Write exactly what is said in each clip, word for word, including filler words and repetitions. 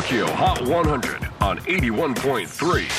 Tokyo Hot one hundred on エイティワンポイントスリー J-Wave。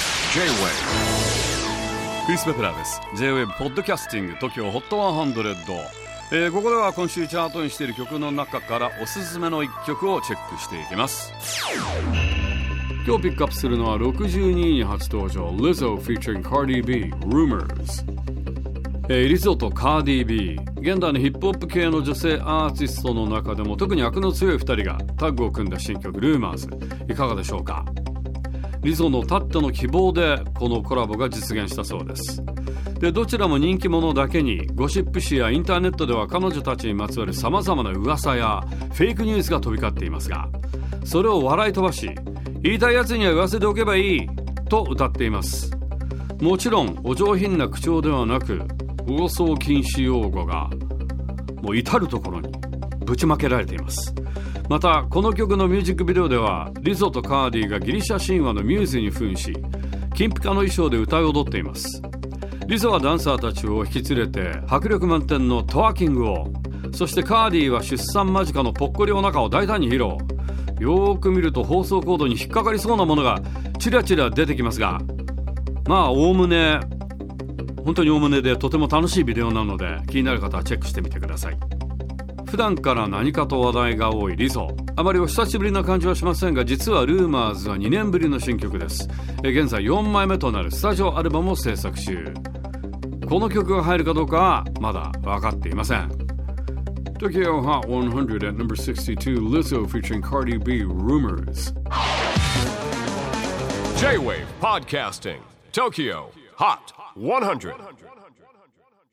クリス・ベプラーです。 J-Wave ポッドキャスティング Tokyo Hot ワンハンドレッド、えー、ここでは今週チャートにしている曲の中からおすすめのいっきょくをチェックしていきます。今日ピックアップするのはろくじゅうにいに初登場 Lizzo featuring Cardi B Rumors、えー、リゾとカーディ B、 現代のヒップホップ系の女性アーティストの中でも特に悪の強いふたりがタッグを組んだ新曲 Rumors、 いかがでしょうか。リゾのたっての希望でこのコラボが実現したそうです。でどちらも人気者だけにゴシップ誌やインターネットでは彼女たちにまつわる様々な噂やフェイクニュースが飛び交っていますが、それを笑い飛ばし、言いたいやつには言わせておけばいいと歌っています。もちろんお上品な口調ではなく、放送禁止用語がもう至るところにぶちまけられています。またこの曲のミュージックビデオではリゾとカーディがギリシャ神話のミューズに扮し、金ピカの衣装で歌い踊っています。リゾはダンサーたちを引き連れて迫力満点のトワーキングを、そしてカーディは出産間近のぽっこりお腹を大胆に披露。よーく見ると放送コードに引っかかりそうなものがチラチラ出てきますが、まあおおむね本当におおむねでとても楽しいビデオなので、気になる方はチェックしてみてください。普段から何かと話題が多いリゾ、あまりお久しぶりな感じはしませんが、実はルーマーズはにねんぶりの新曲です。現在よんまいめとなるスタジオアルバムを制作中。この曲が入るかどうかはまだ分かっていません。 Tokyo Hot ワンハンドレッド at number sixty-two, Lizzo featuring Cardi B Rumors。 J-Wave Podcasting Tokyo Hot ワンハンドレッド